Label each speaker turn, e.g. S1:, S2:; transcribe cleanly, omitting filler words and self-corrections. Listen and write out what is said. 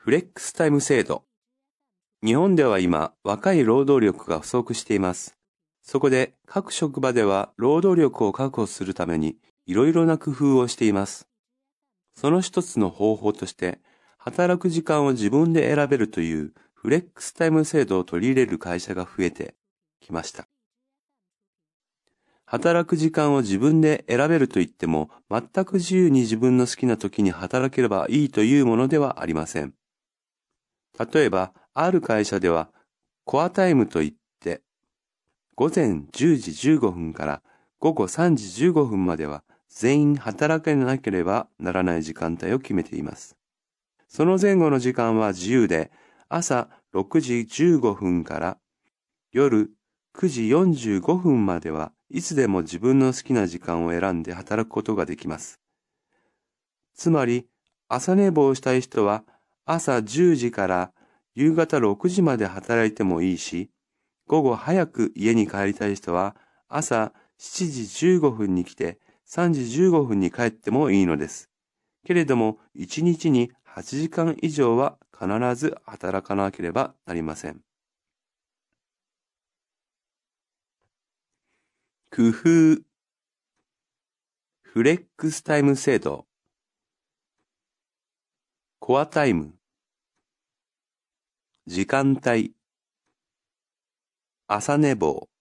S1: フレックスタイム制度。日本では今、若い労働力が不足しています。そこで各職場では労働力を確保するためにいろいろな工夫をしています。その一つの方法として、働く時間を自分で選べるというフレックスタイム制度を取り入れる会社が増えてきました。働く時間を自分で選べるといっても、全く自由に自分の好きな時に働ければいいというものではありません。例えば、ある会社では、コアタイムといって、午前10時15分から午後3時15分までは全員働かなければならない時間帯を決めています。その前後の時間は自由で、朝6時15分から夜9時45分まではいつでも自分の好きな時間を選んで働くことができます。つまり、朝寝坊したい人は朝10時から夕方6時まで働いてもいいし、午後早く家に帰りたい人は朝7時15分に来て3時15分に帰ってもいいのです。けれども、1日に8時間以上は必ず働かなければなりません。工夫。フレックスタイム制度。コアタイム。時間帯。朝寝坊。